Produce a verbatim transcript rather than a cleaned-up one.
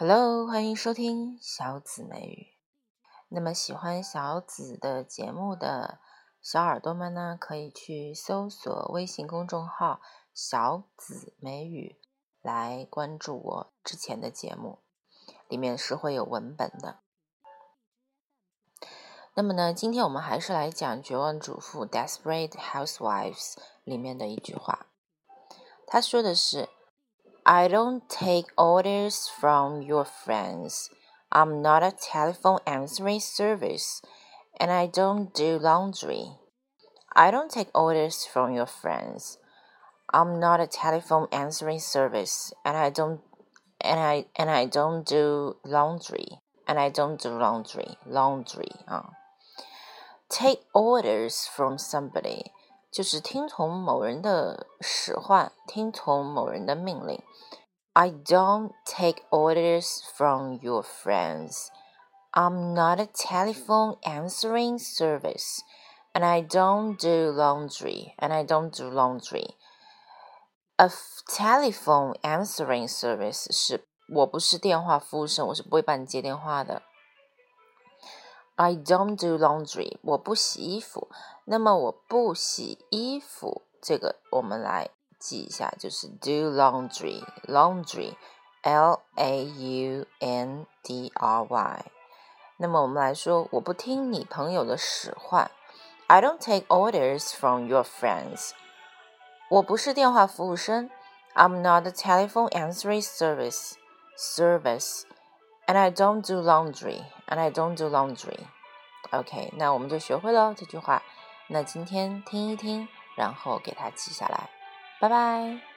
Hello， 欢迎收听小紫美语。那么喜欢小紫的节目的小耳朵们呢，可以去搜索微信公众号小紫美语来关注我之前的节目，里面是会有文本的。那么呢，今天我们还是来讲《绝望主妇》Desperate Housewives 里面的一句话。他说的是 I don't take orders from your friends. I'm not a telephone answering service, and I don't do laundry. I don't take orders from your friends. I'm not a telephone answering service, and I don't and I and I don't do laundry. And I don't do laundry. Laundry 啊。Take orders from somebody 就是听从某人的使唤，听从某人的命令。I don't take orders from your friends. I'm not a telephone answering service. And I don't do laundry. And I don't do laundry. A telephone answering service 是我不是电话服务生，我是不会帮你接电话的。I don't do laundry. 我不洗衣服。那么我不洗衣服，这个我们来记一下，就是 do laundry. Laundry, L A U N D R Y. 那么我们来说，我不听你朋友的使唤。I don't take orders from your friends. 我不是电话服务生。I'm not a telephone answering service. Service. And I don't do laundry. And I don't do laundry. OK, 那我们就学会了这句话。那今天听一听，然后给它记下来。拜拜。